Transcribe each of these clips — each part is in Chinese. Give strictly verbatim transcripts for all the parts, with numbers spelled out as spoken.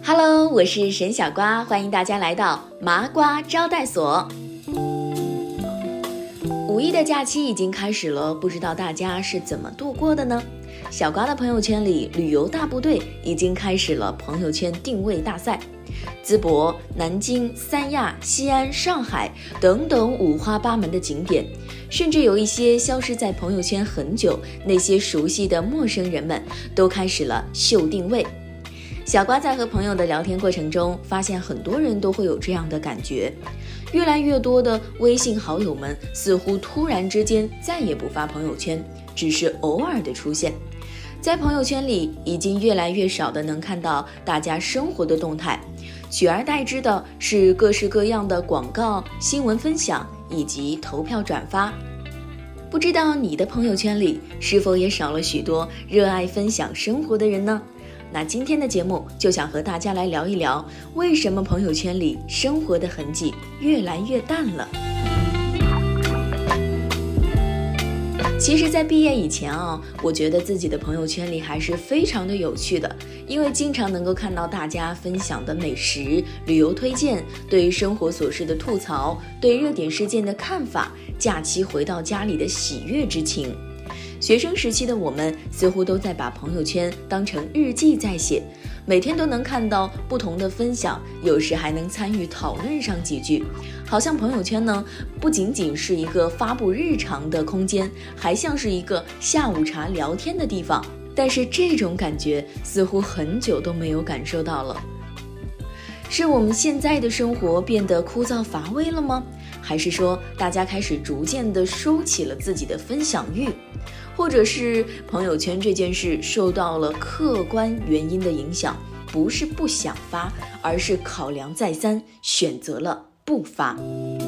Hello， 我是沈小瓜，欢迎大家来到麻瓜招待所。五一的假期已经开始了，不知道大家是怎么度过的呢？小瓜的朋友圈里，旅游大部队已经开始了朋友圈定位大赛，淄博、南京、三亚、西安、上海等等五花八门的景点，甚至有一些消失在朋友圈很久，那些熟悉的陌生人们都开始了秀定位。小瓜在和朋友的聊天过程中，发现很多人都会有这样的感觉，越来越多的微信好友们似乎突然之间再也不发朋友圈，只是偶尔的出现。在朋友圈里，已经越来越少的能看到大家生活的动态，取而代之的是各式各样的广告、新闻分享以及投票转发。不知道你的朋友圈里是否也少了许多热爱分享生活的人呢？那今天的节目就想和大家来聊一聊，为什么朋友圈里生活的痕迹越来越淡了。其实在毕业以前啊，我觉得自己的朋友圈里还是非常的有趣的，因为经常能够看到大家分享的美食、旅游推荐，对生活琐事的吐槽，对热点事件的看法，假期回到家里的喜悦之情。学生时期的我们似乎都在把朋友圈当成日记在写，每天都能看到不同的分享，有时还能参与讨论上几句，好像朋友圈呢不仅仅是一个发布日常的空间，还像是一个下午茶聊天的地方。但是这种感觉似乎很久都没有感受到了。是我们现在的生活变得枯燥乏味了吗？还是说大家开始逐渐地收起了自己的分享欲？或者是朋友圈这件事受到了客观原因的影响，不是不想发，而是考量再三，选择了不发。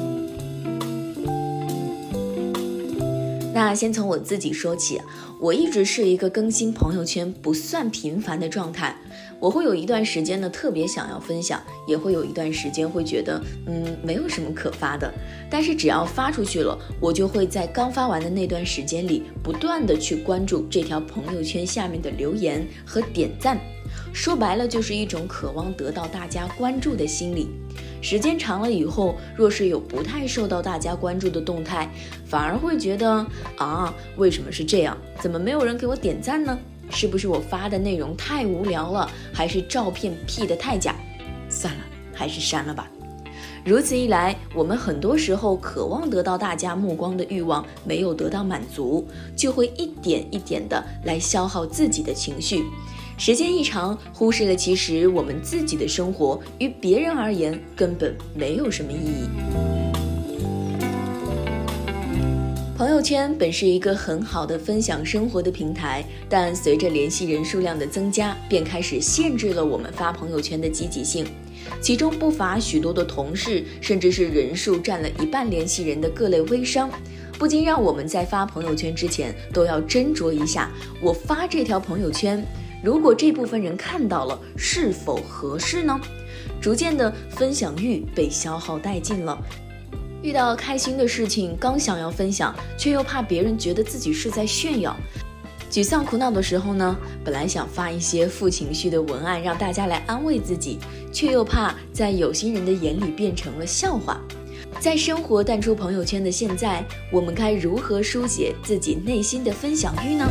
那先从我自己说起，我一直是一个更新朋友圈不算频繁的状态，我会有一段时间呢特别想要分享，也会有一段时间会觉得嗯没有什么可发的，但是只要发出去了，我就会在刚发完的那段时间里不断的去关注这条朋友圈下面的留言和点赞，说白了就是一种渴望得到大家关注的心理。时间长了以后，若是有不太受到大家关注的动态，反而会觉得啊，为什么是这样？怎么没有人给我点赞呢？是不是我发的内容太无聊了，还是照片 P 得太假？算了，还是删了吧。如此一来，我们很多时候渴望得到大家目光的欲望没有得到满足，就会一点一点的来消耗自己的情绪。时间一长，忽视了其实我们自己的生活于别人而言根本没有什么意义。朋友圈本是一个很好的分享生活的平台，但随着联系人数量的增加，便开始限制了我们发朋友圈的积极性。其中不乏许多的同事，甚至是人数占了一半联系人的各类微商，不禁让我们在发朋友圈之前都要斟酌一下，我发这条朋友圈，如果这部分人看到了，是否合适呢？逐渐的分享欲被消耗殆尽了。遇到开心的事情，刚想要分享，却又怕别人觉得自己是在炫耀。沮丧苦恼的时候呢，本来想发一些负情绪的文案让大家来安慰自己，却又怕在有心人的眼里变成了笑话。在生活淡出朋友圈的现在，我们该如何书写自己内心的分享欲呢？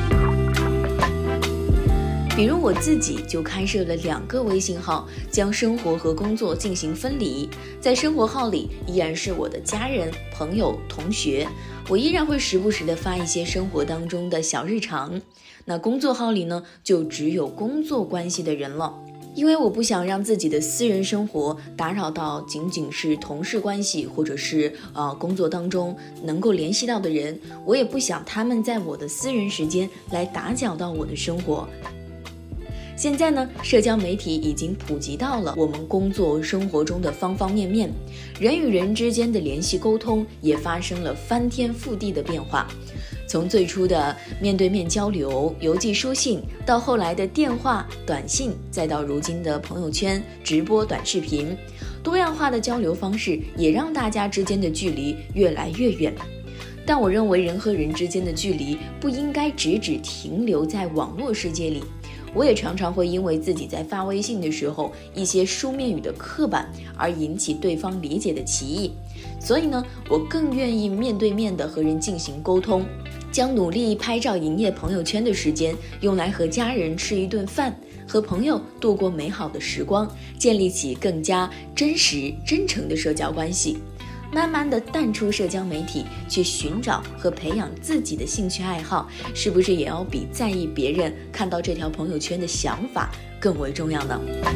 比如我自己就开设了两个微信号，将生活和工作进行分离。在生活号里依然是我的家人、朋友、同学，我依然会时不时的发一些生活当中的小日常。那工作号里呢，就只有工作关系的人了，因为我不想让自己的私人生活打扰到仅仅是同事关系，或者是呃工作当中能够联系到的人，我也不想他们在我的私人时间来打搅到我的生活。现在呢，社交媒体已经普及到了我们工作生活中的方方面面，人与人之间的联系沟通也发生了翻天覆地的变化。从最初的面对面交流、邮寄书信，到后来的电话、短信，再到如今的朋友圈、直播、短视频，多样化的交流方式也让大家之间的距离越来越远。但我认为人和人之间的距离不应该只只停留在网络世界里， 我也常常会因为自己在发微信的时候一些书面语的刻板而引起对方理解的歧义，所以呢，我更愿意面对面的和人进行沟通，将努力拍照营业朋友圈的时间用来和家人吃一顿饭，和朋友度过美好的时光，建立起更加真实真诚的社交关系。慢慢的淡出社交媒体，去寻找和培养自己的兴趣爱好，是不是也要比在意别人看到这条朋友圈的想法更为重要呢？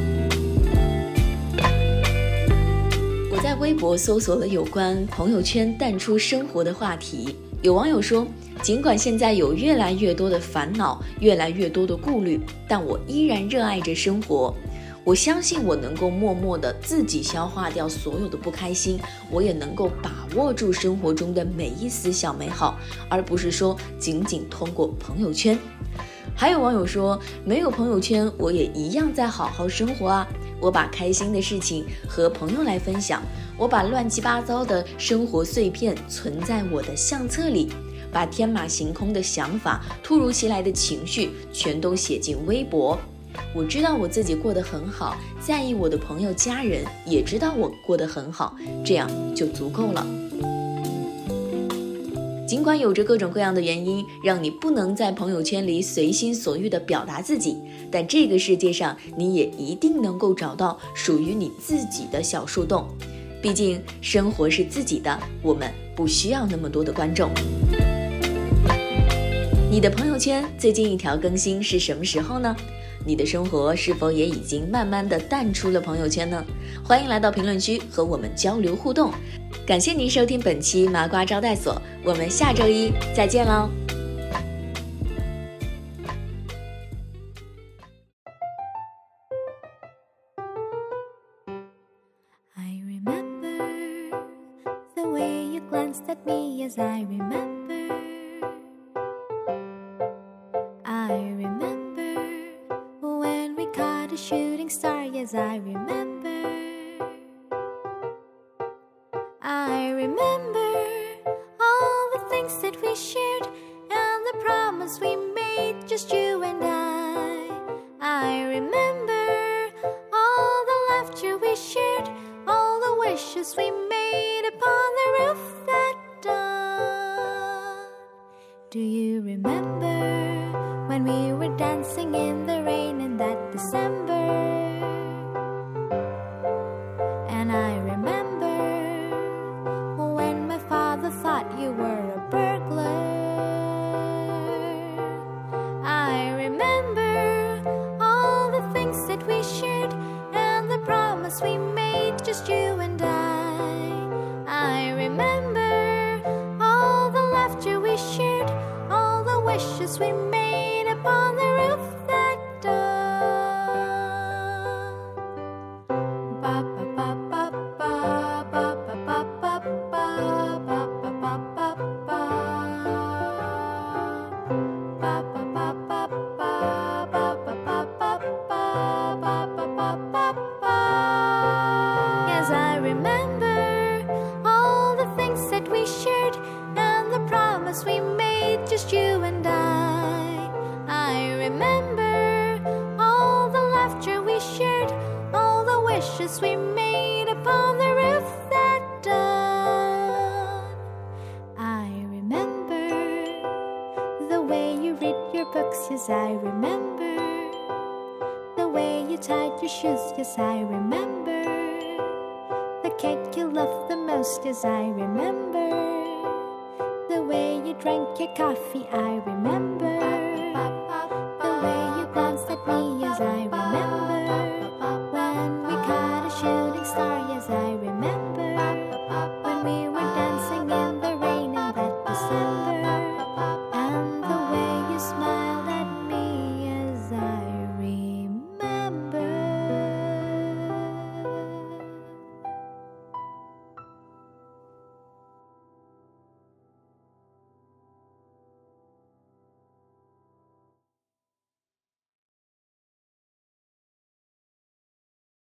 我在微博搜索了有关朋友圈淡出生活的话题，有网友说，尽管现在有越来越多的烦恼，越来越多的顾虑，但我依然热爱着生活。我相信我能够默默地自己消化掉所有的不开心，我也能够把握住生活中的每一丝小美好，而不是说仅仅通过朋友圈。还有网友说，没有朋友圈我也一样在好好生活啊，我把开心的事情和朋友来分享，我把乱七八糟的生活碎片存在我的相册里，把天马行空的想法、突如其来的情绪全都写进微博。我知道我自己过得很好，在意我的朋友家人也知道我过得很好，这样就足够了。尽管有着各种各样的原因，让你不能在朋友圈里随心所欲地表达自己，但这个世界上你也一定能够找到属于你自己的小树洞。毕竟生活是自己的，我们不需要那么多的观众。你的朋友圈最近一条更新是什么时候呢？你的生活是否也已经慢慢的淡出了朋友圈呢？欢迎来到评论区和我们交流互动。感谢您收听本期麻瓜招待所，我们下周一再见喽。 I remember the way you glanced at me as I remember. I remember when we caught a shooting star, yes, I remember. I remember all the things that we shared and the promise we made, just you and I. I remember all the laughter we shared, all the wishes we made upon the roof that dawn. Do you remember when we were dancing in the rain in that December? And I remember when my father thought you were a burglar. I remember all the things that we shared and the promise we made, just you and I. I remember all the laughter we shared, all the wishes we made upon the roof that dawn. Ba ba ba ba ba ba ba ba ba ba ba ba ba ba ba. Ba ba ba ba ba ba ba ba ba ba ba ba ba ba. Yes, I remember all the things that we shared and the promise we made, just you and I. I remember all the laughter we shared, all the wishes we made upon the roof that dawn. I remember the way you read your books, yes, I remember. The way you tied your shoes, yes, I remember. The cake you loved the most, yes, I remember. The way you drank your coffee, I remember.